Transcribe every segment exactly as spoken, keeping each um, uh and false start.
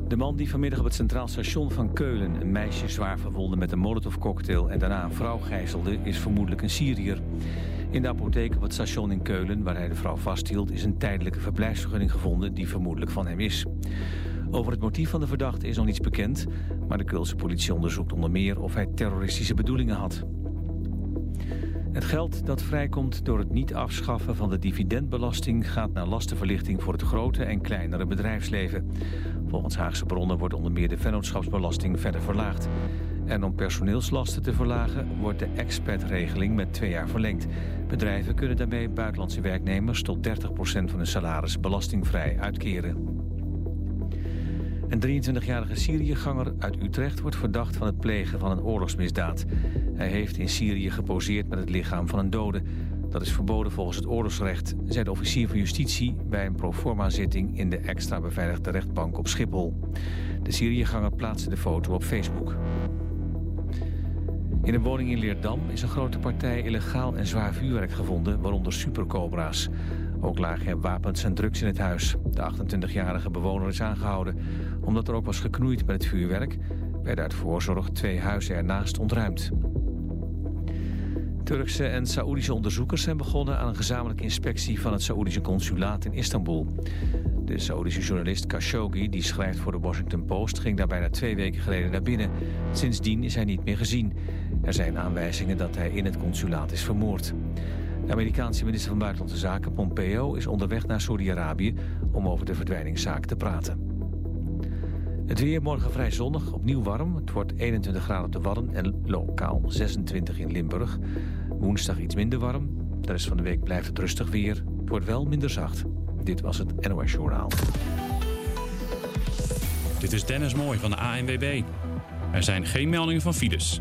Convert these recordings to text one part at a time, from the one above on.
De man die vanmiddag op het Centraal Station van Keulen een meisje zwaar verwondde met een molotovcocktail en daarna een vrouw gijzelde, is vermoedelijk een Syriër. In de apotheek op het station in Keulen, waar hij de vrouw vasthield, is een tijdelijke verblijfsvergunning gevonden die vermoedelijk van hem is. Over het motief van de verdachte is nog niets bekend, maar de Keulse politie onderzoekt onder meer of hij terroristische bedoelingen had. Het geld dat vrijkomt door het niet afschaffen van de dividendbelasting gaat naar lastenverlichting voor het grote en kleinere bedrijfsleven. Volgens Haagse bronnen wordt onder meer de vennootschapsbelasting verder verlaagd. En om personeelslasten te verlagen wordt de expat-regeling met twee jaar verlengd. Bedrijven kunnen daarmee buitenlandse werknemers tot dertig procent van hun salaris belastingvrij uitkeren. Een drieëntwintigjarige Syriëganger uit Utrecht wordt verdacht van het plegen van een oorlogsmisdaad. Hij heeft in Syrië geposeerd met het lichaam van een dode. Dat is verboden volgens het oorlogsrecht, zei de officier van justitie bij een proforma-zitting in de extra beveiligde rechtbank op Schiphol. De Syriëganger plaatste de foto op Facebook. In een woning in Leerdam is een grote partij illegaal en zwaar vuurwerk gevonden, waaronder supercobra's. Ook lagen er wapens en drugs in het huis. De achtentwintigjarige bewoner is aangehouden. Omdat er ook was geknoeid met het vuurwerk, werden uit voorzorg twee huizen ernaast ontruimd. Turkse en Saoedische onderzoekers zijn begonnen aan een gezamenlijke inspectie van het Saoedische consulaat in Istanbul. De Saoedische journalist Khashoggi, die schrijft voor de Washington Post, ging daar bijna twee weken geleden naar binnen. Sindsdien is hij niet meer gezien. Er zijn aanwijzingen dat hij in het consulaat is vermoord. De Amerikaanse minister van Buitenlandse Zaken, Pompeo, is onderweg naar Saudi-Arabië om over de verdwijningszaak te praten. Het weer morgen vrij zonnig, opnieuw warm. Het wordt eenentwintig graden op de Wadden en lokaal zesentwintig in Limburg. Woensdag iets minder warm. De rest van de week blijft het rustig weer. Het wordt wel minder zacht. Dit was het N O S Journaal. Dit is Dennis Mooi van de A N W B. Er zijn geen meldingen van files.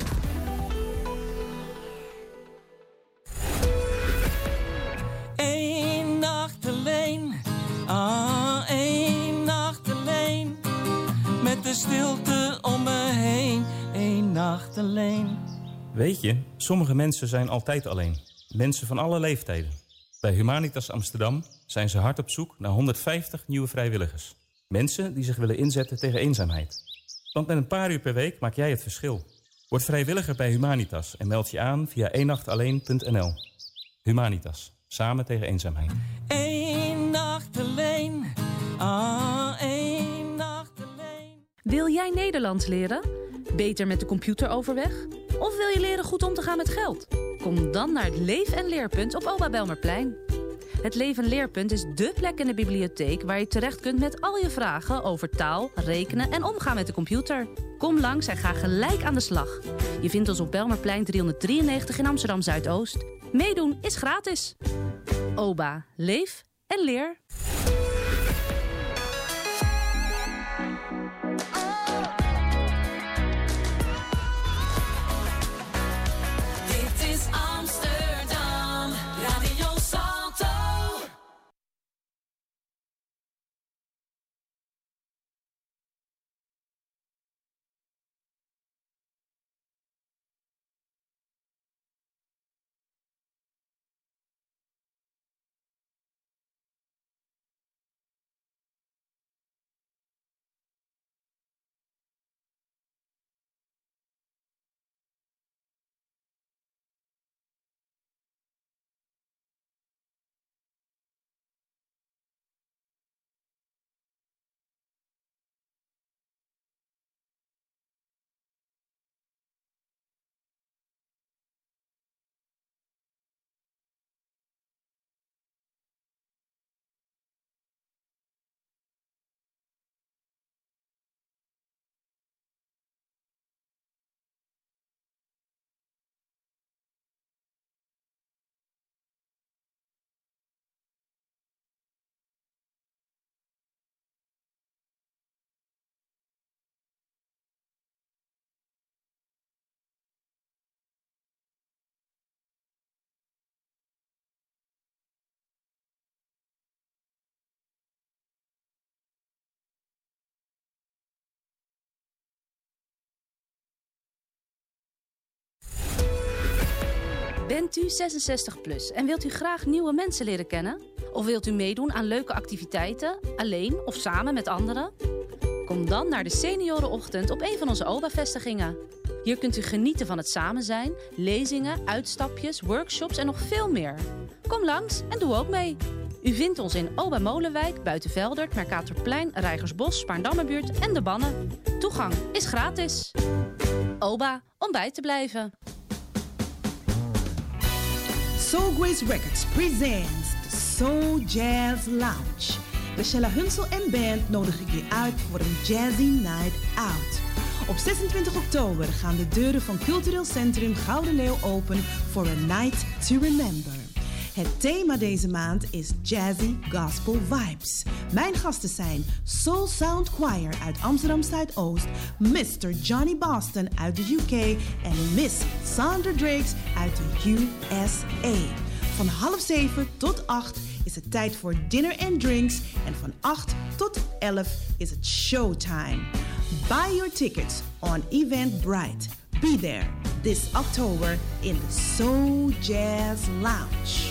Eén nacht alleen, ah, één nacht alleen. Met de stilte om me heen, één nacht alleen. Weet je, sommige mensen zijn altijd alleen. Mensen van alle leeftijden. Bij Humanitas Amsterdam zijn ze hard op zoek naar honderdvijftig nieuwe vrijwilligers. Mensen die zich willen inzetten tegen eenzaamheid. Want met een paar uur per week maak jij het verschil. Word vrijwilliger bij Humanitas en meld je aan via één nacht alleen punt n l. Humanitas, samen tegen eenzaamheid. Eén nacht alleen, ah, één nacht alleen. Wil jij Nederlands leren? Beter met de computer overweg? Of wil je leren goed om te gaan met geld? Kom dan naar het Leef en Leerpunt op Oba Belmerplein. Het Leef en Leerpunt is dé plek in de bibliotheek waar je terecht kunt met al je vragen over taal, rekenen en omgaan met de computer. Kom langs en ga gelijk aan de slag. Je vindt ons op Belmerplein driehonderddrieënnegentig in Amsterdam Zuidoost. Meedoen is gratis. Oba, leef en leer. Bent u zesenzestig plus en wilt u graag nieuwe mensen leren kennen? Of wilt u meedoen aan leuke activiteiten, alleen of samen met anderen? Kom dan naar de Seniorenochtend op een van onze O B A-vestigingen. Hier kunt u genieten van het samen zijn, lezingen, uitstapjes, workshops en nog veel meer. Kom langs en doe ook mee. U vindt ons in O B A Molenwijk, Buitenveldert, Mercatorplein, Rijgersbos, Spaarndammerbuurt en De Bannen. Toegang is gratis. O B A, om bij te blijven. Soul Grace Records presents the Soul Jazz Lounge. De Shella Hunsel en band nodig ik je uit voor een Jazzy Night Out. Op zesentwintig oktober gaan de deuren van Cultureel Centrum Gouden Leeuw open voor a night to remember. Het thema deze maand is Jazzy Gospel Vibes. Mijn gasten zijn Soul Sound Choir uit Amsterdam Zuidoost, mister Johnny Boston uit de U K en Miss Sandra Drakes uit de U S A. Van half zeven tot acht is het tijd voor dinner and drinks en van acht tot elf is het showtime. Buy your tickets on Eventbrite. Be there this October in the Soul Jazz Lounge.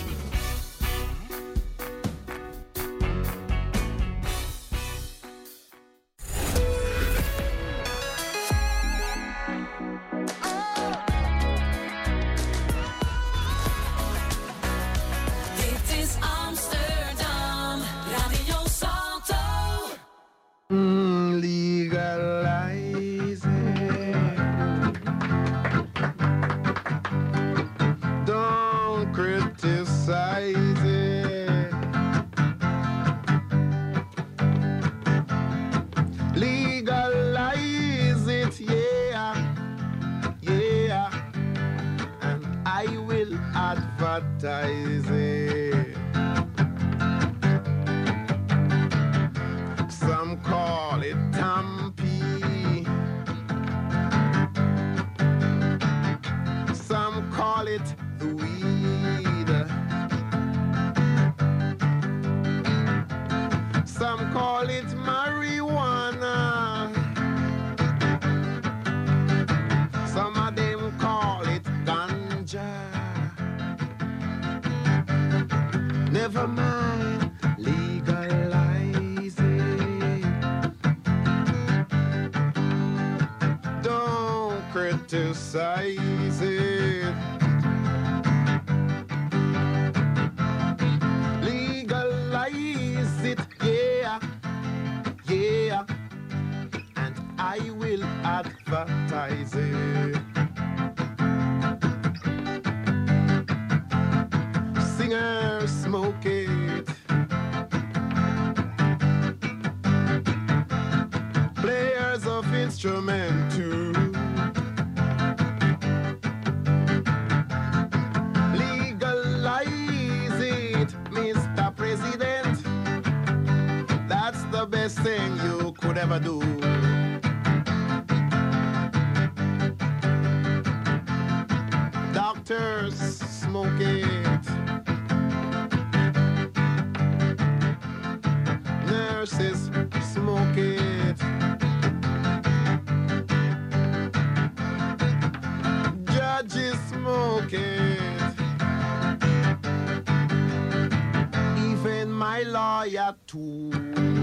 Never mind, legalize it. Don't criticize it. Legalize it, yeah, yeah. And I will advertise it. Singers smoke it. Players of instrument too. Legalize it, Mister President. That's the best thing you could ever do. Doctors smoke it. Nurses smoke it. Judges smoke it. Even my lawyer too.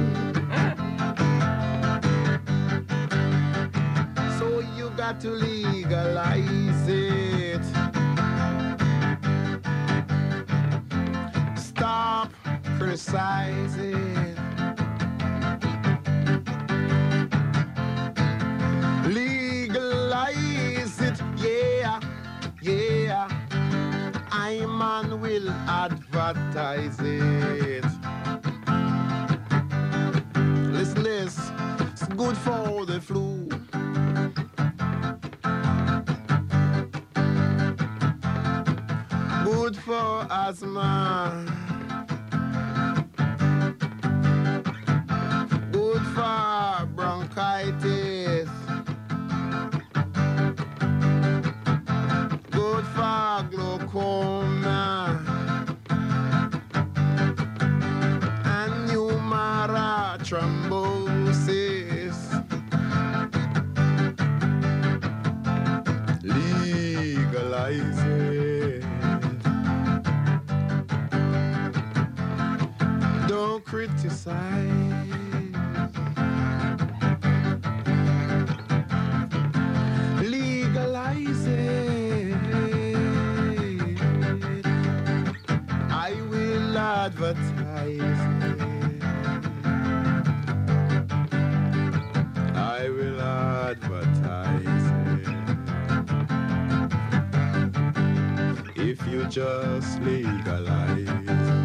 So you got to legalize it. Stop criticizing. Legalize it, yeah, yeah. I man will advertise it. Listen this, it's good for the flu. Good for asthma. Good for bronchitis. Good for glaucoma and pneumara thrombosis. Legalize it. Don't criticize. advertise it. I will advertise it. If you just legalize it.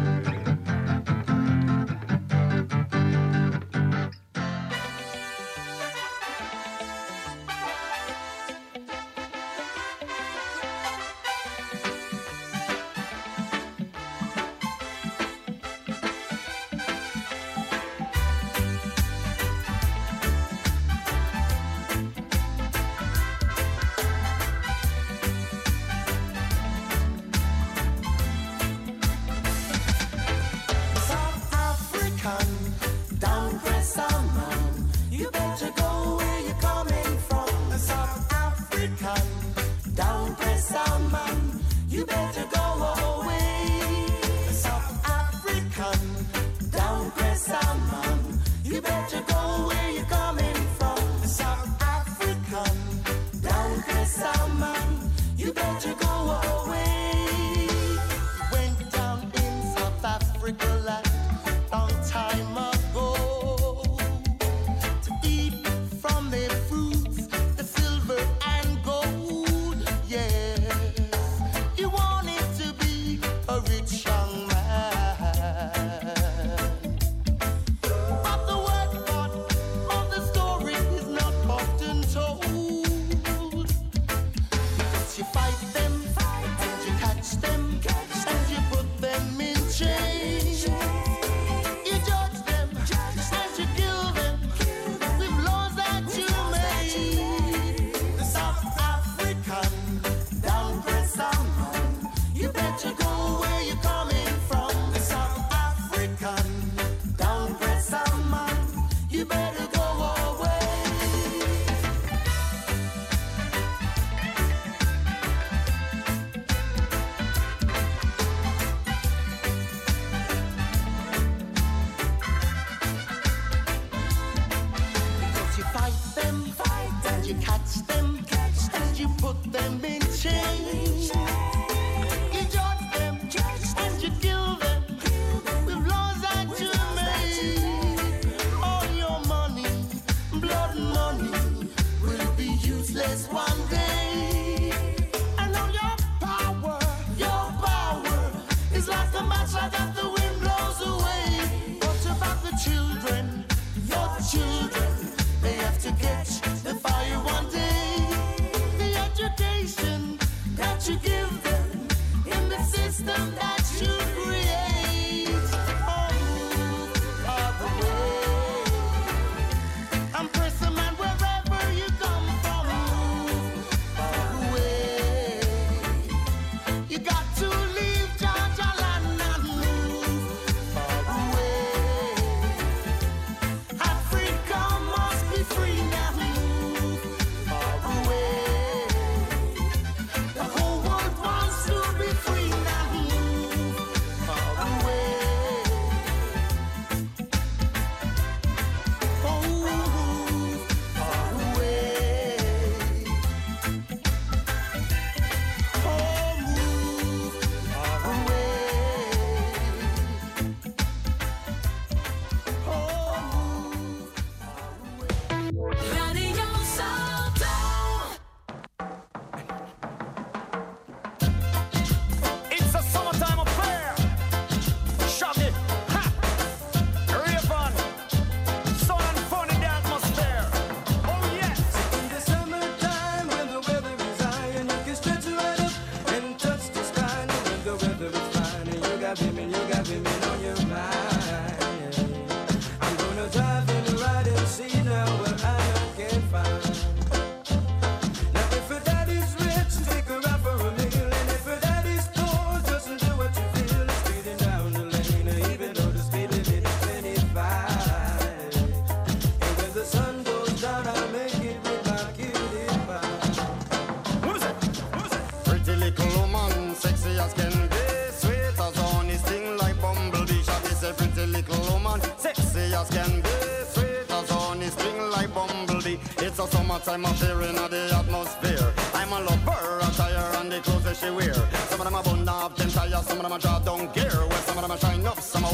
It's a summertime affair in the atmosphere. I'm a lover, attire and the clothes that she wear. Some of them are bun up, them tires, some of them are draw down gear. Where some of them are shine up, some are walk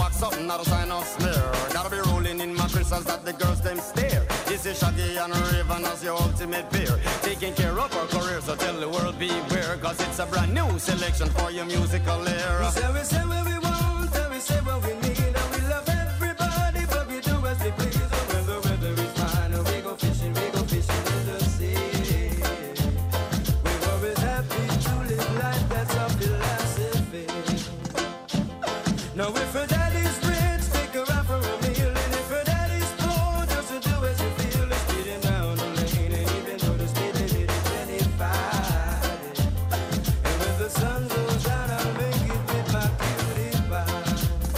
not a sign of smear. Gotta be rolling in my crystals that the girls them stare. This is Shaggy and Raven as your ultimate peer. Taking care of our career, so tell the world beware. Cause it's a brand new selection for your musical era. We say, we say what we want, and we say what we need. And we love everybody, but we do as we please. And when the weather is fine, and we go fishing, we go fishing in the sea. We're always happy to live life, that's our philosophy. Now if her daddy's rich, take her out for a meal. And if her daddy's poor, just to do as you feel. Let's speed him down the lane, and even though the speed limit is twenty-five. And when the sun goes down, I'll make it with my cutie pie.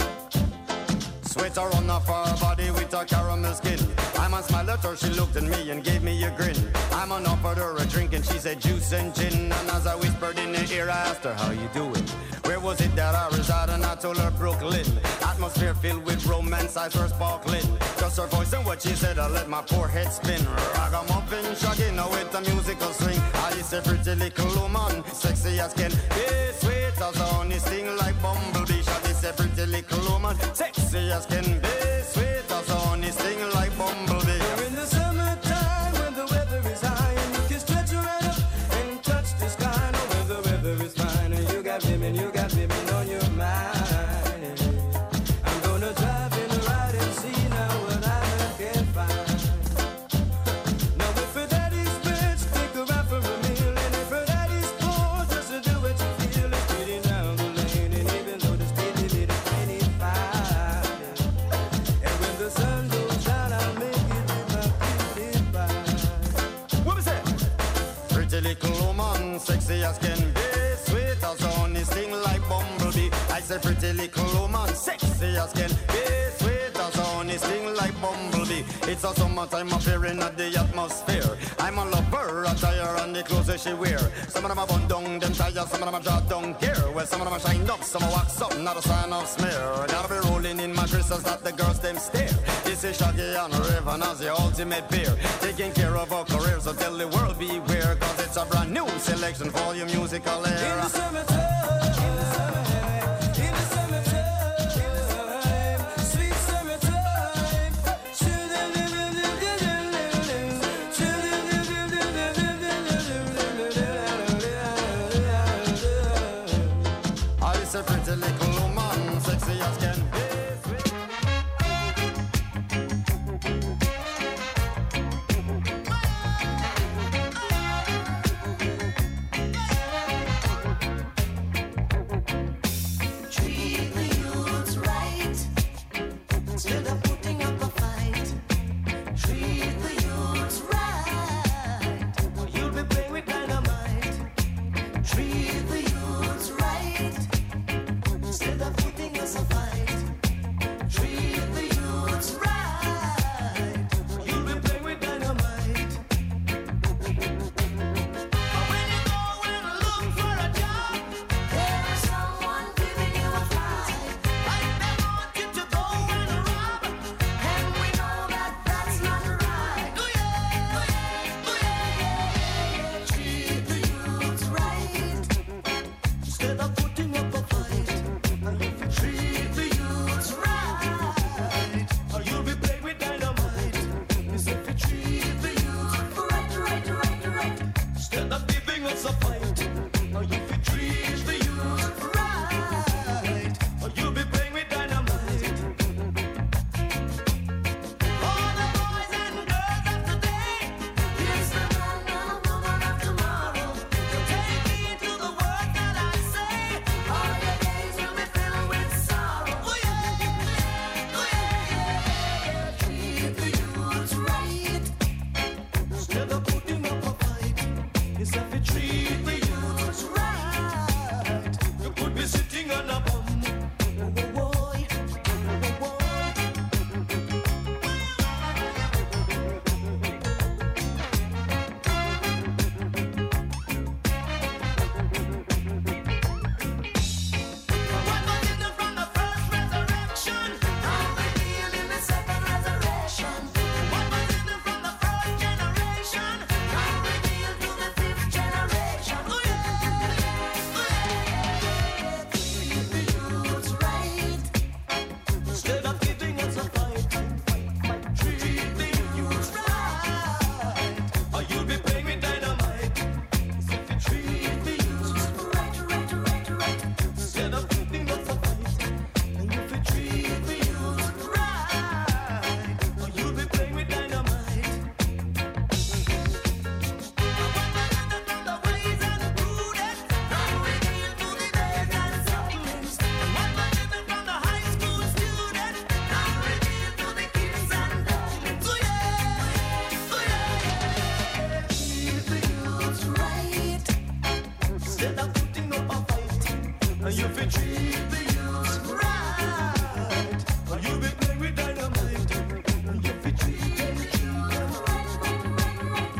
Sweater on off her body with her caramel skin. I'm on smile at her, she looked at me and gave me a grin. I'm on offered her a drink and she said juice and gin. And as I whispered in her ear, I asked her, how you doing? Where was it that I reside? And I told her Brooklyn. Atmosphere filled with romance, eyes were sparkling. Just her voice and what she said, I let my poor head spin. Ragamuffin, Shaggy, now with a musical swing. I said pretty little woman, sexy as can be, sweet as honey, sting like bumblebee. Shaggy said pretty little woman, sexy as can be, sweet as honey, sting like bumblebee. We're in the summertime when the weather is high, and you can stretch your right up and touch the sky. No, when the weather is fine, and you got women, you got women on your mind. I'm gonna drive in the ride and see now what I can find. Now if her daddy's rich, take her out for a meal. And if her daddy's poor, just to do what you feel. It's pretty down the lane, and even though the speed limit is twenty-five. And when the sun goes down, I'll make it with my cutie pie. What was that? Pretty little woman, sexy as can be, sweet as honey, sting like bumblebee. I said pretty little woman, sexy as can be, sweet as honey, sting like bumblebee. It's a summertime affair in the atmosphere. I'm a lover, attire and the clothes that she wear. Some of them are bun down, them tires, some of them are draw down gear. Well, some of them are shined up, some are wax up, not a sign of smear. Gotta be rolling in my crystals that the girls them stare. This is Shaggy and Raven as the ultimate peer. Taking care of our career, so tell the world beware. Cause it's a brand new selection for your musical era. In the summertime, in the summertime, in the summertime, sweet summertime. I said pretty little woman, sexy as can be. instead of putting up a fight. And you fi treat the youth right. And you be playing with dynamite. And you fi treat them, treat them right, right, right, right.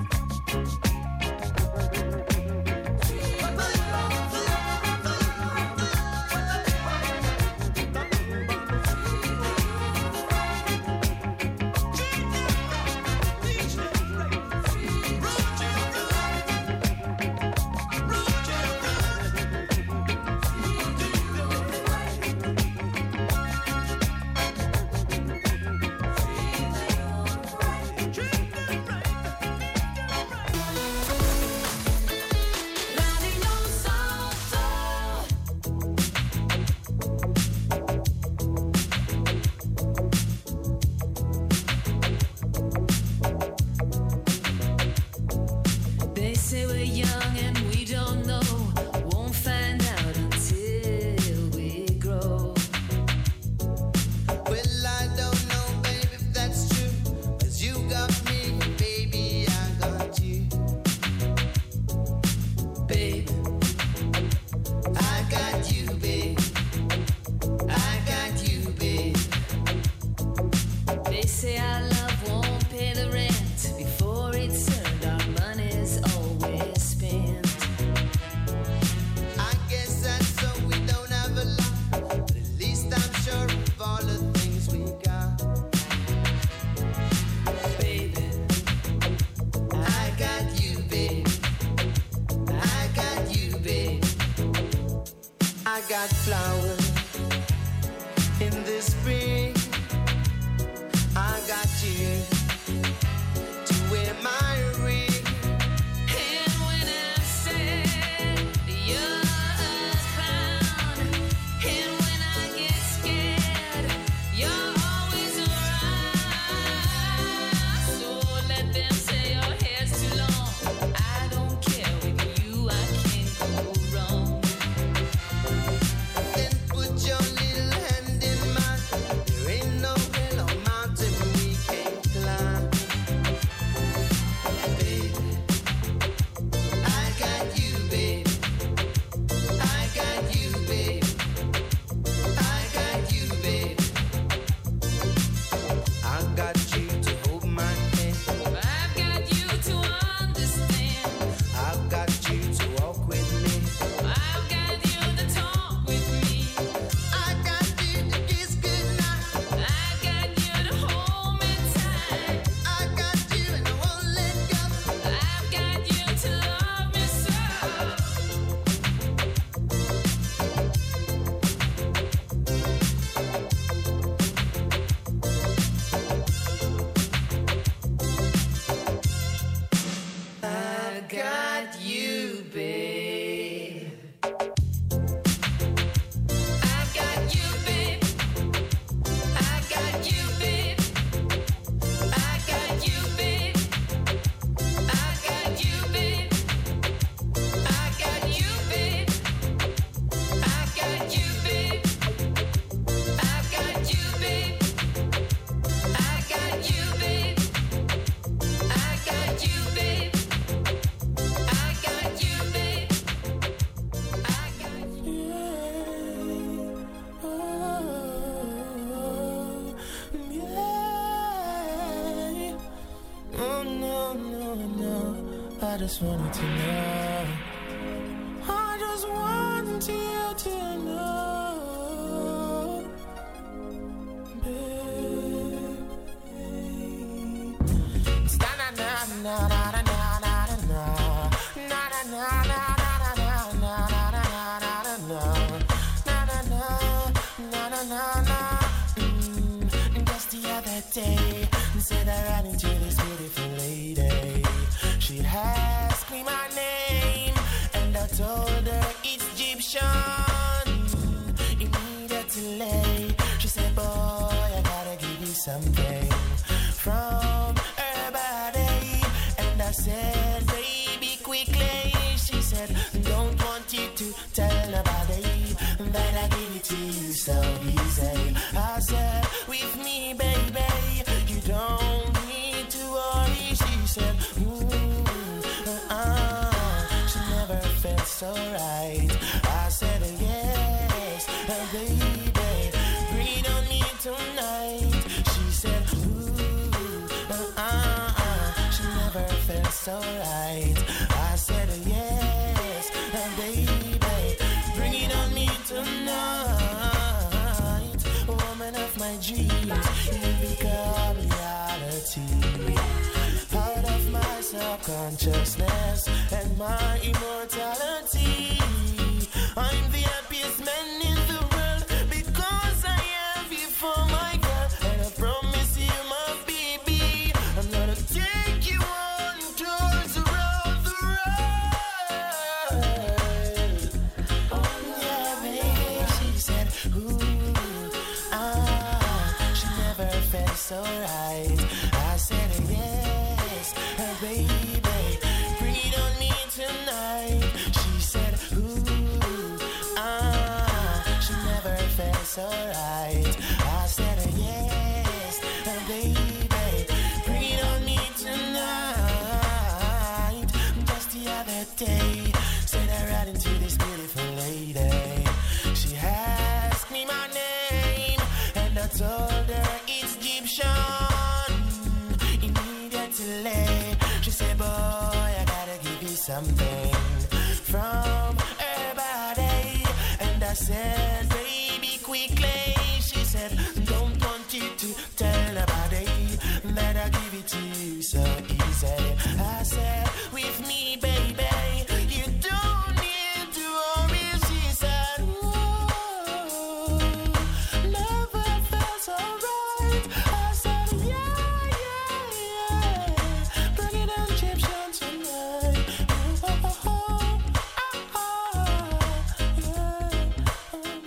got flowers in the spring. I got you to wear my ring. And when I said you're a clown, and when I get scared, you're always around. So let them say your hair's too long. I don't care, with you I can't go wrong. Then put your little hand in mine. There ain't no hill or mountain we can't climb. Baby, I got you, baby. I got you, baby. I got you, baby. I got you to hold my hand. I've got you to understand. I've got you to walk with me. I've got you to talk with me. I got you to kiss goodnight. I've got you to hold me tight. I got you and I won't let go. I've got you to love me so. I've got you, babe. I've got you, babe. I got you, babe. I got you, babe. I got you, babe. I got you, babe. I got you, babe. I got you, babe. I got you, babe. I got you, babe. I got you, babe. I got you. Oh no, no, no. I just wanted to know. I just want you to know, babe. Na na na na na na na na na na na na na na na na na. Just the other day, said I ran into this beautiful lady. She'd ask me my name, and I told her it's Egyptian. Immediately, she said, boy, I gotta give you something from her body. And I said, baby, quickly. She said, don't want you to tell nobody that I give it to you so easy. I said, with me, baby, you don't need to worry. She said, ooh, uh-uh. She never felt so right. never felt so right. I said yes, and baby, bring it on me tonight. Woman of my dreams, you become reality. Out of my subconsciousness and my immortality, I'm the happiest man in the world because I have you for my girl. And I promise you, my baby, I'm gonna take you on tours around the world. Oh yeah, baby, she said, ooh, ah, she never felt so right. I said yes, and baby, bring it on me tonight. She said, ooh, ah, she never felt so right. I said yes, and baby, bring it on me tonight. Just the other day, said I ran into this beautiful lady. She asked me my name, and I told her it's Egyptian. Immediately, she said, boy, I gotta give you something from her body. And I said, baby, quickly. She said, don't want you to tell nobody that I give it to you so easy. I said, with me, baby, you don't need to worry. She said, ooh, never felt so right. I said, yeah, yeah, yeah, bring it on Egyptian tonight. Ooh, oh, oh, oh, oh, yeah.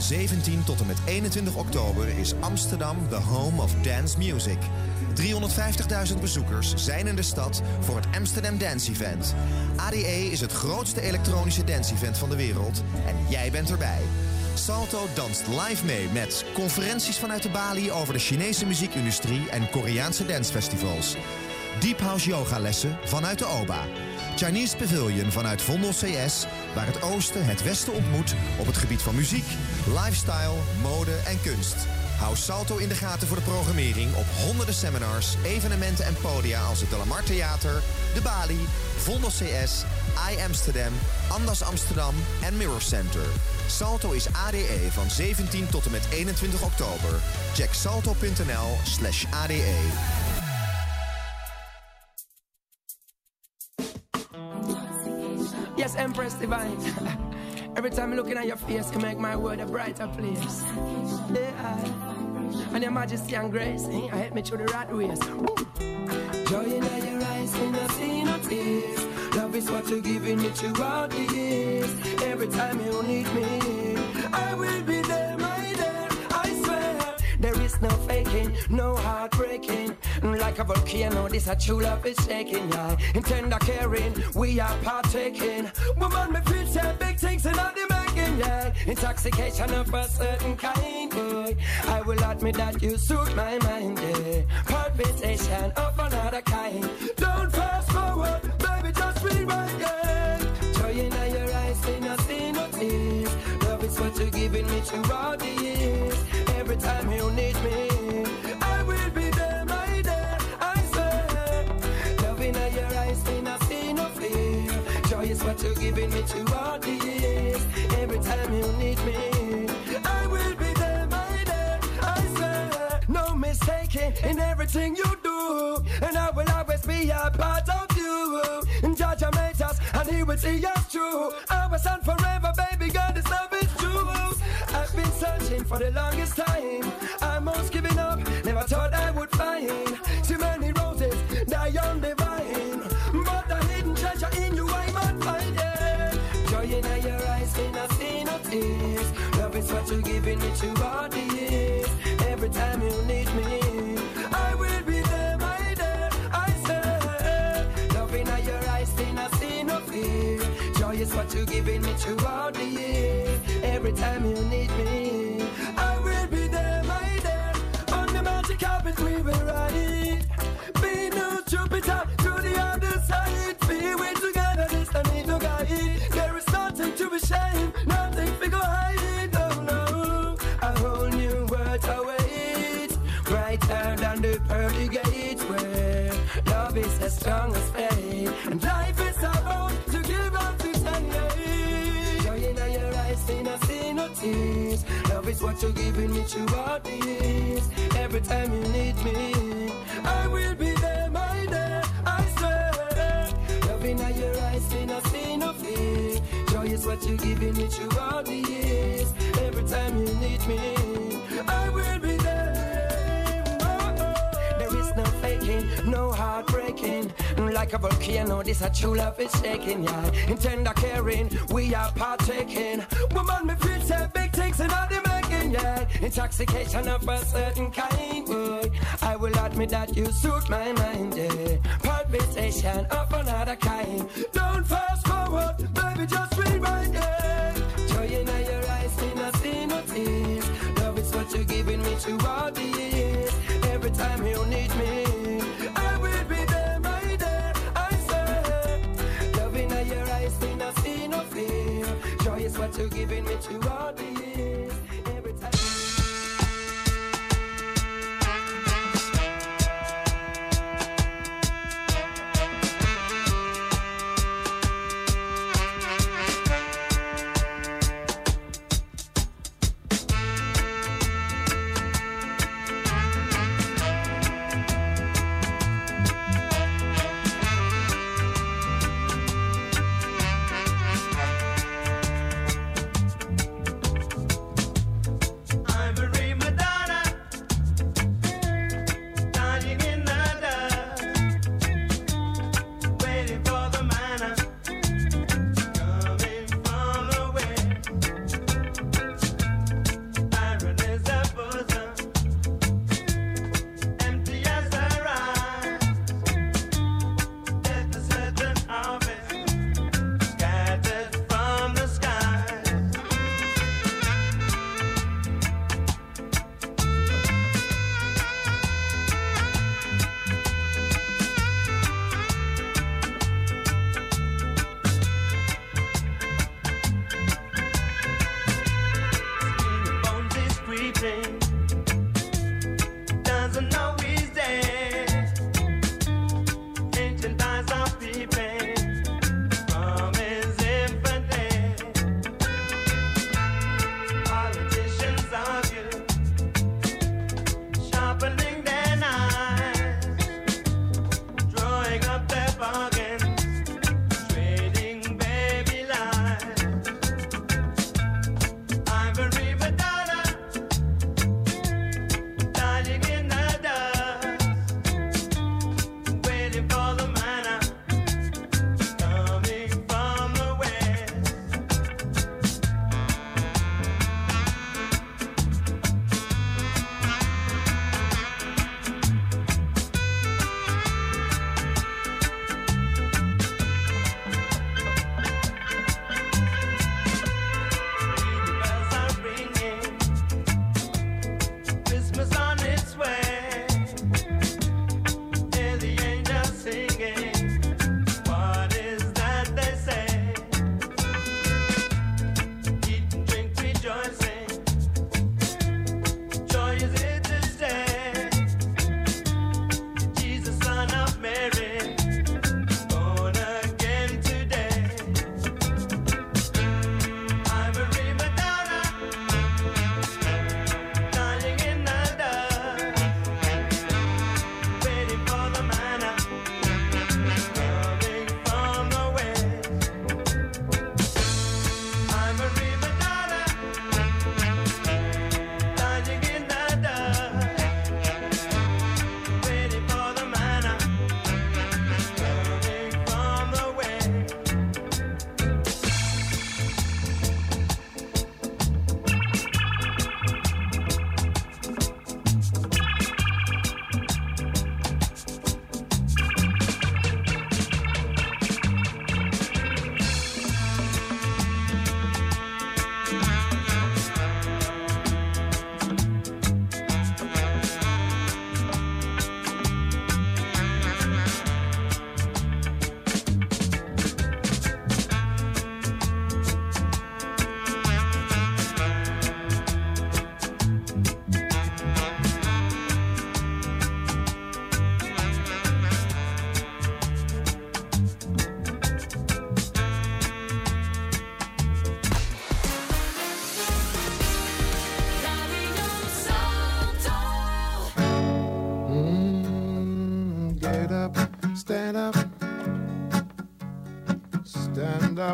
zeventien tot en met eenentwintig oktober is Amsterdam the home of dance music. driehonderdvijftigduizend bezoekers zijn in de stad voor het Amsterdam Dance Event. A D E is het grootste elektronische dance-event van de wereld en jij bent erbij. Salto danst live mee met conferenties vanuit de Bali over de Chinese muziekindustrie en Koreaanse dancefestivals. Deep House yogalessen vanuit de O B A. Chinese Pavilion vanuit Vondel C S, waar het oosten het westen ontmoet op het gebied van muziek, lifestyle, mode en kunst. Hou Salto in de gaten voor de programmering op honderden seminars, evenementen en podia als het De La Mar Theater, de Bali, Vondel C S, I Amsterdam, Andas Amsterdam en Mirror Center. Salto is A D E van zeventien tot en met eenentwintig oktober. Check salto.nl slash ADE. Yes, Empress Divine. Every time I'm looking at your face, can make my world a brighter place. Yeah, and your majesty and grace, eh, help me through the rat race. Woo. Joy in your eyes, when I see no tears. Love is what you're giving me throughout the years. Every time you need me, I will be there, my dear, I swear. There is no faking, no heartbreaking. Like a volcano, this a true love is shaking, yeah. In tender caring, we are partaking. Woman, me feel say big things in all the making, yeah. Intoxication of a certain kind, boy. I will admit that you suit my mind, yeah. Palpitation of another kind. Don't fast forward, baby, just rewind, yeah. Joy in your eyes, we not see no tears. Love is what you're giving me throughout the years. Every time you need me, I will be there, my dear, I swear. Love in your eyes, we not see no fear. Joy is what you're giving me throughout the years. Every time you need me, I will be there, my dear, I swear. No mistaking in everything you do, and I will always be a part of you. And Judge made us, and He will see us through. Ours and forever, baby girl, this love is true. I've been searching for the longest time. I'm almost giving up, never thought I would find too many roses die on the vine, but the hidden treasure in you I might find it. Joy in your eyes, when I see no tears. Love is what you're giving me throughout the years. Every time you need me, I will be there, my dear, I say. Love in your eyes, when I see no fear. Joy is what you're giving me throughout the years. Every time you need me, I will be there, my dear. On the magic carpet we will ride. Be no Jupiter to the other side. Be we together, this I need to guide. There is nothing to be ashamed, nothing to go hide. No, no, a whole new world awaits, brighter than the pearly gates, where love is as strong as faith, and life is about to give up to ten years. Joy in your eyes, see I see no tears. Love is what you're giving me throughout the years. Every time you need me, I will be there, my dear, I swear. Love in your eyes, see I see no fear. Joy is what you're giving me throughout the years. Every time you need me, I will be there. Oh, oh. There is no faking, no heartbreaking. Like a volcano, this a true love is shaking, yeah. In tender caring, we are partaking. Woman, me feel say big things in all the making, yeah. Intoxication of a certain kind, boy. I will admit that you suit my mind, yeah. Palpitation of another kind. Don't fast forward, baby, just rewind, yeah. Joy in your eyes, see no see no tears. Love is what you're giving me throughout the years. Every time you need me, I will be there, my dear, I swear. Love in your eyes, see no see no fear. Joy is what you're giving me throughout the years. Every time.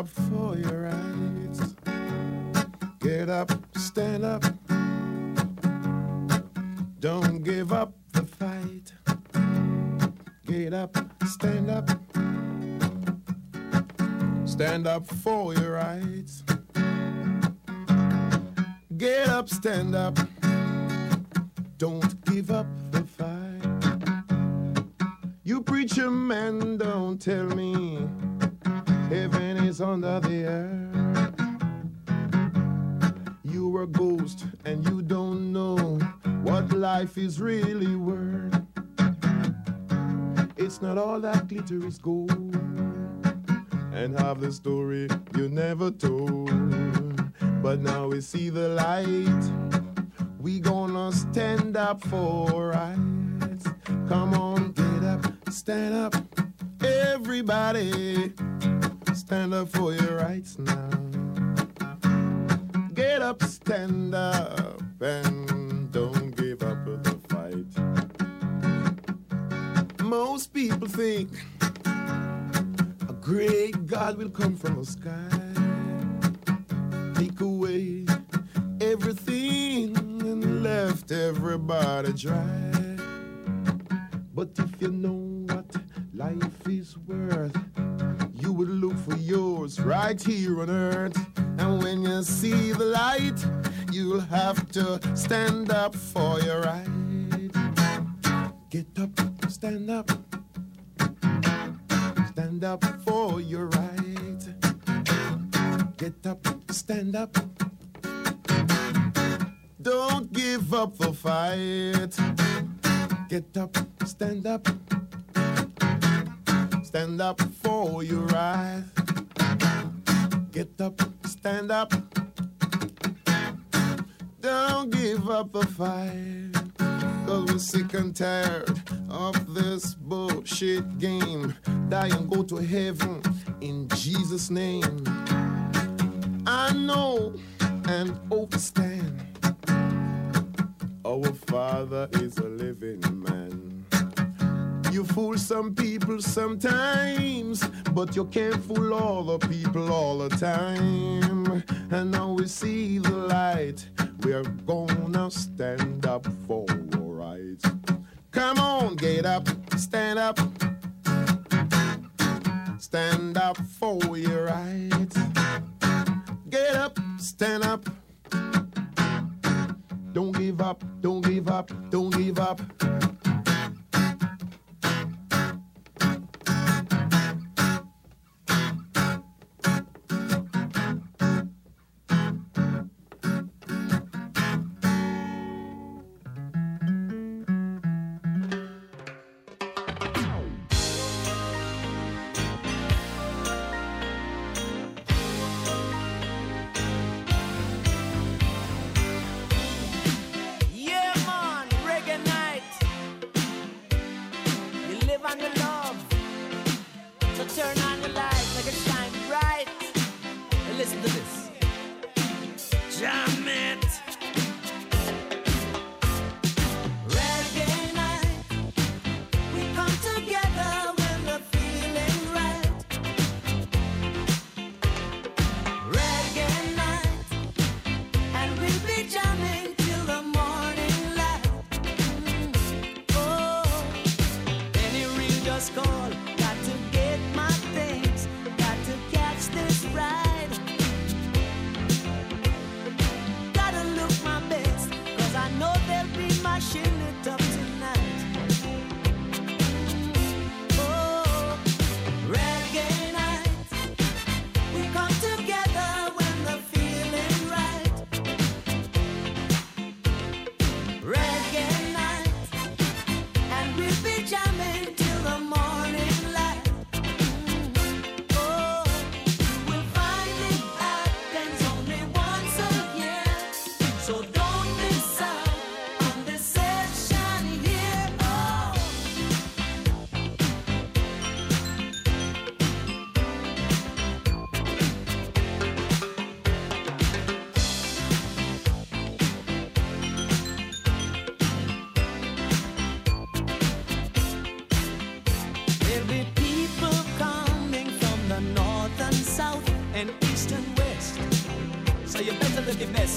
up for your rights. Get up, stand up. Don't give up the fight. Get up, stand up. Stand up for your rights. Get up, stand up. Don't give up the fight. You preacher man, don't tell me heaven is under the earth. You're a ghost and you don't know what life is really worth. It's not all that glitter is gold, and half the story you never told. But now we see the light. We gonna stand up for rights. Come on, get up, stand up. Everybody, stand up for your rights now. Get up, stand up, and don't give up the fight. Most people think a great God will come from the sky, take away everything and left everybody dry. But if you know what life is worth, you would look for yours right here on earth. And when you see the light, you'll have to stand up for your right. Get up, stand up. Stand up for your right. Get up, stand up. Don't give up the fight. Get up, stand up. Stand up for your right. Get up, stand up. Don't give up the fight. Cause we're sick and tired of this bullshit game. Die and go to heaven in Jesus' name. I know and understand our Father is a living man. You fool some people sometimes, but you can't fool all the people all the time. And now we see the light. We're gonna stand up for our rights. Come on, get up, stand up. Stand up for your rights. Get up, stand up. Don't give up, don't give up, don't give up.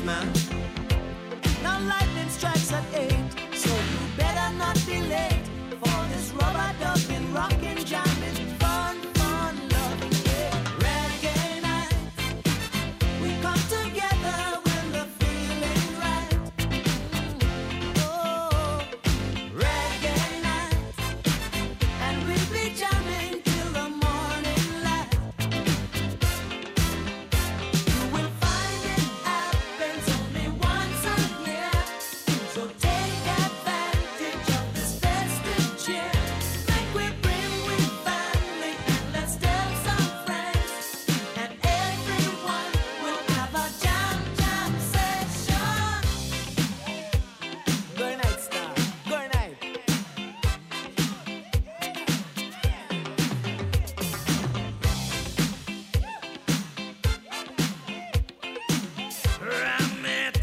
man. Now lightning strikes at eight, so you better not be late for this rubber ducking, rocking, jamming, fun, fun, loving, yeah. Reggae night, we come together when the feeling's right. Oh, reggae night, and we'll be jamming till the morning light. You will find it happens only once a year, so take advantage of this festive cheer. Make we bring with family and let's tell some friends, and everyone will have a jam jam session. Good night, star. Good night. Ram it.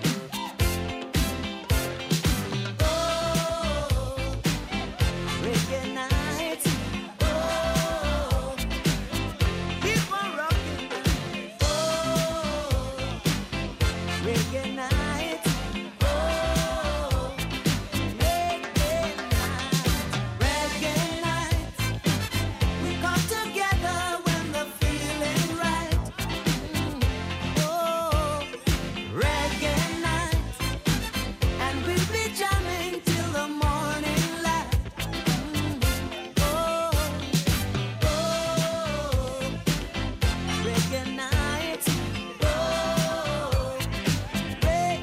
Oh, reggae night. Oh, keep on rocking. Oh, reggae night. Oh, reggae night. Reggae night. We come together when the feeling right. Oh, reggae night, and we'll be jamming till the morning light. Oh, oh, reggae night. Oh, reggae night.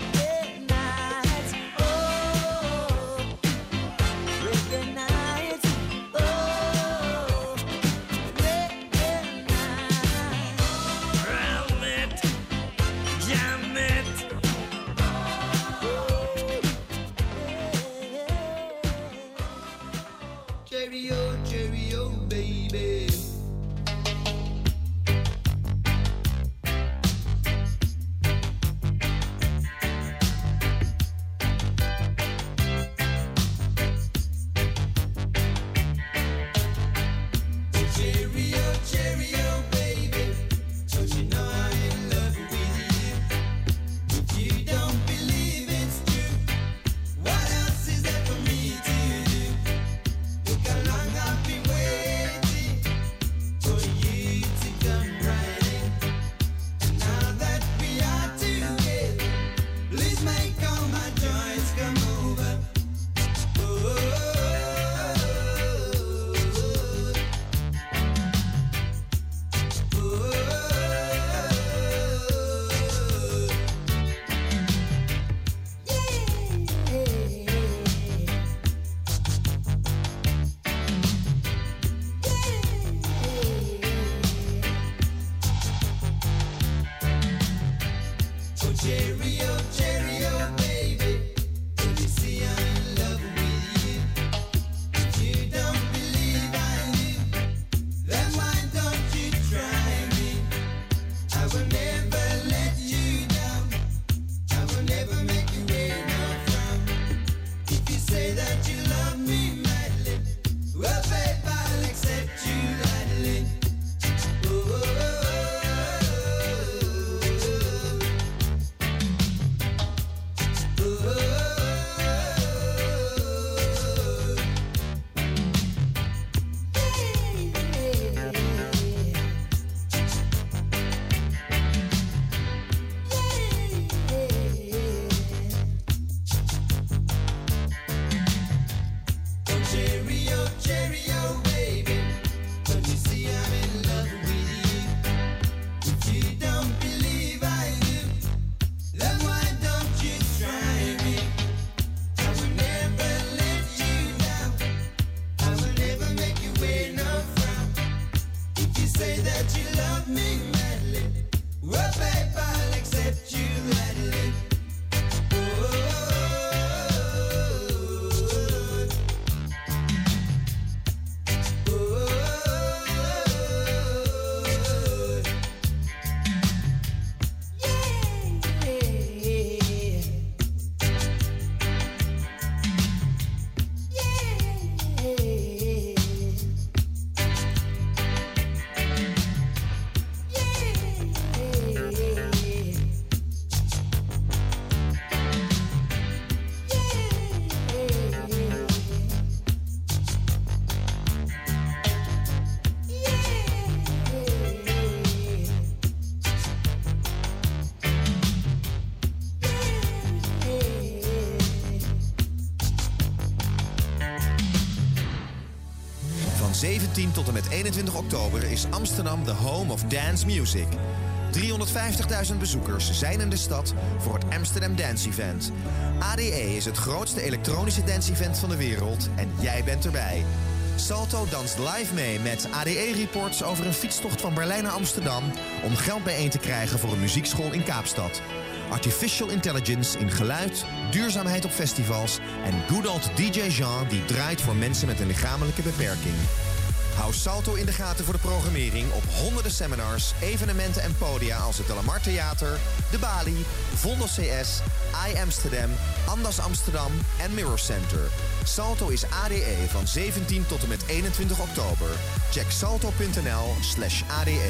zeventien tot en met eenentwintig oktober is Amsterdam de home of dance music. driehonderdvijftigduizend bezoekers zijn in de stad voor het Amsterdam Dance Event. A D E is het grootste elektronische dance-event van de wereld en jij bent erbij. Salto danst live mee met A D E-reports over een fietstocht van Berlijn naar Amsterdam om geld bijeen te krijgen voor een muziekschool in Kaapstad. Artificial intelligence in geluid, duurzaamheid op festivals en good old D J Jean die draait voor mensen met een lichamelijke beperking. Hou Salto in de gaten voor de programmering op honderden seminars, evenementen en podia als het De Lamar Theater, De Bali, Vondel C S, I Amsterdam, Andas Amsterdam en Mirror Center. Salto is A D E van zeventien tot en met eenentwintig oktober. Check salto.nl slash ADE.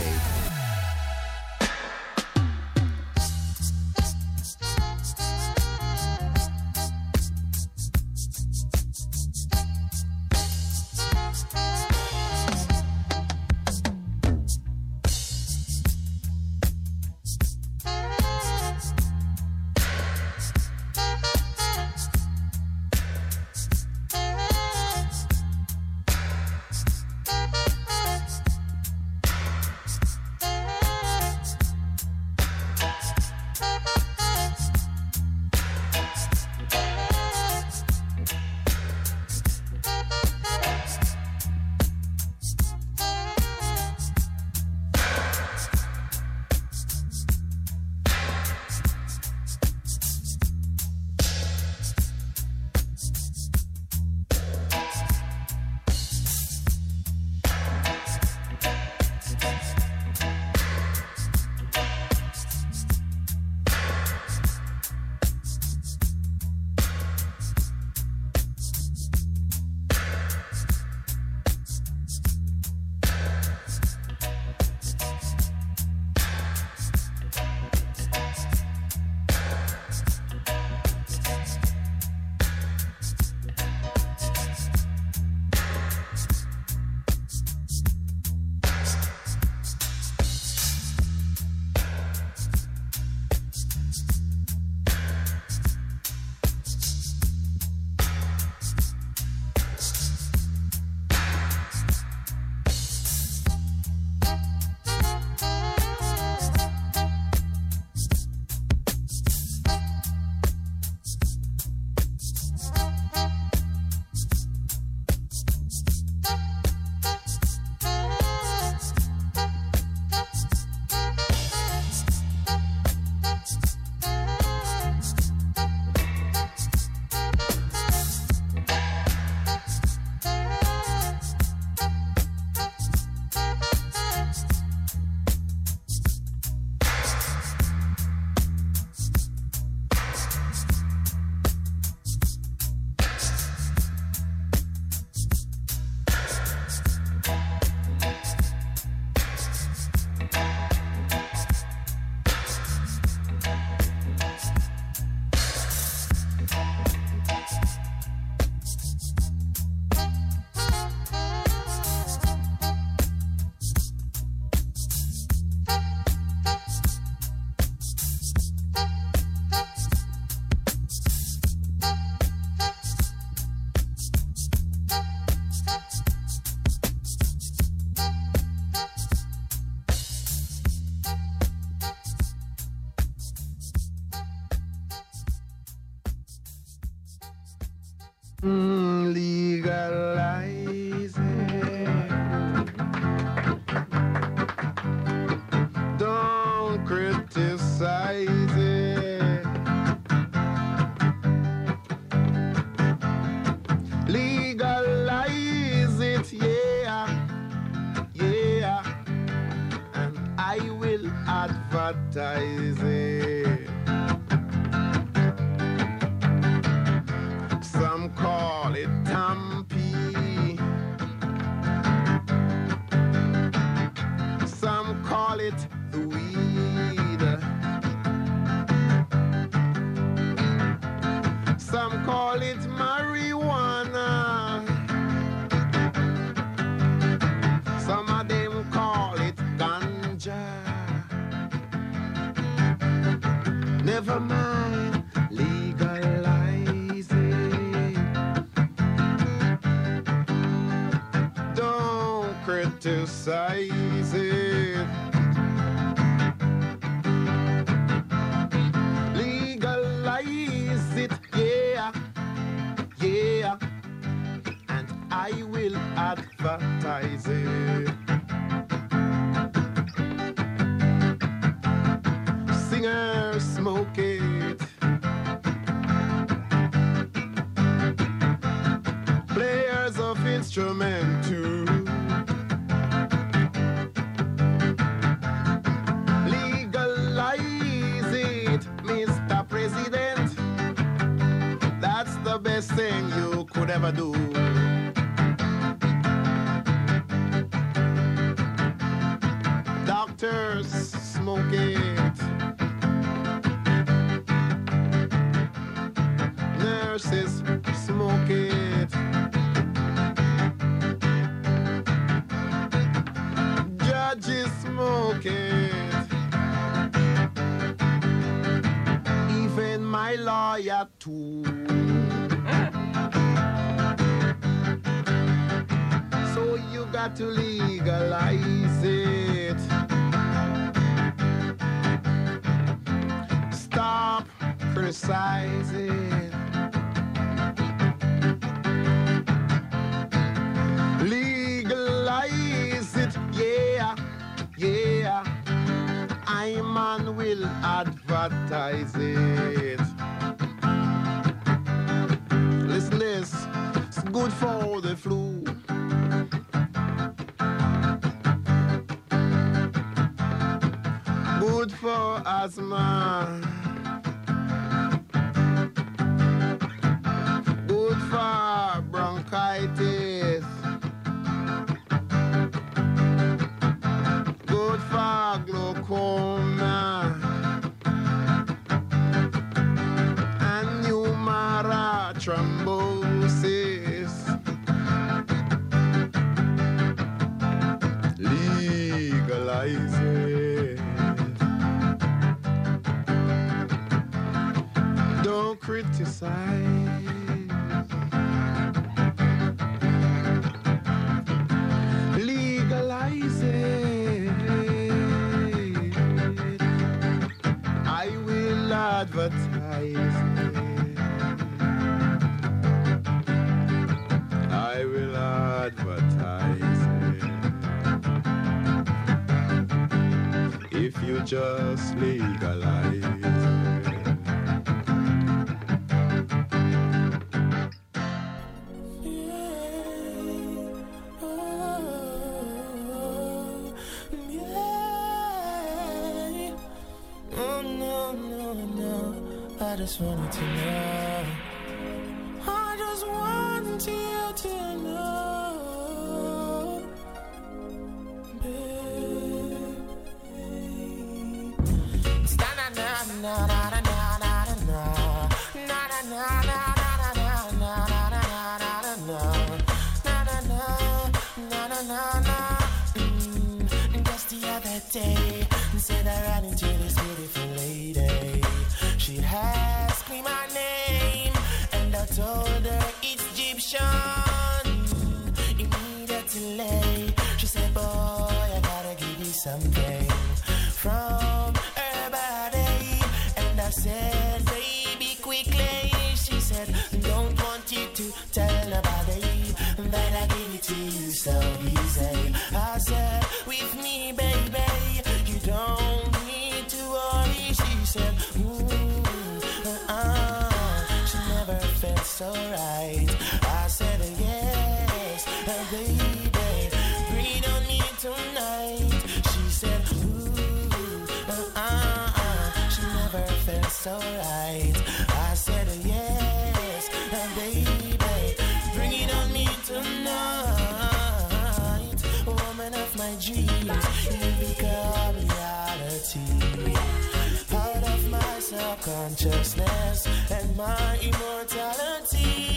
Mm, legalize it. Don't criticize it. Legalize it, yeah, yeah. And I will advertise it. Some call it Tampi. Some call it the weed. Some call it marijuana. Some of them call it ganja. criticize it. Legalize it, yeah, yeah, and I will advertise it. Singers smoke it, players of instrument too. Legalize it, Mister President. That's the best thing you could ever do. Doctors smoke it, nurses smoke it, judges smoke it, even my lawyer too. So you got to legalize it. Stop criticizing. Legalize it, yeah, yeah. I man will advertise it. Listen this, it's good for the flu. Good for asthma. Good for bronchitis. Good for glaucoma and pneumara thrombosis. Legalize it. Don't criticize. Legalize it. I will advertise it. I will advertise it. If you just legalize it. I just wanted to know. I just want you to know, babe. Na na na na na na na na na na na na na na. Just the other day, said I ran into this beautiful lady. She asked me my name, and I told her it's Egyptian. Immediately, she said, boy, I gotta give you something from her body. And I said, baby, quickly. She said, don't want you to tell nobody that I give it to you so easy. I said, with me, baby, you don't need to worry. She said, ooh. Uh, she never felt so right. I said yes, uh, baby, breathe on me tonight. She said, ooh, uh, uh, uh, she never felt so right. I said yes, uh, baby, bring it on me tonight. Woman of my dreams, you become reality. Out of my subconsciousness and my immortality.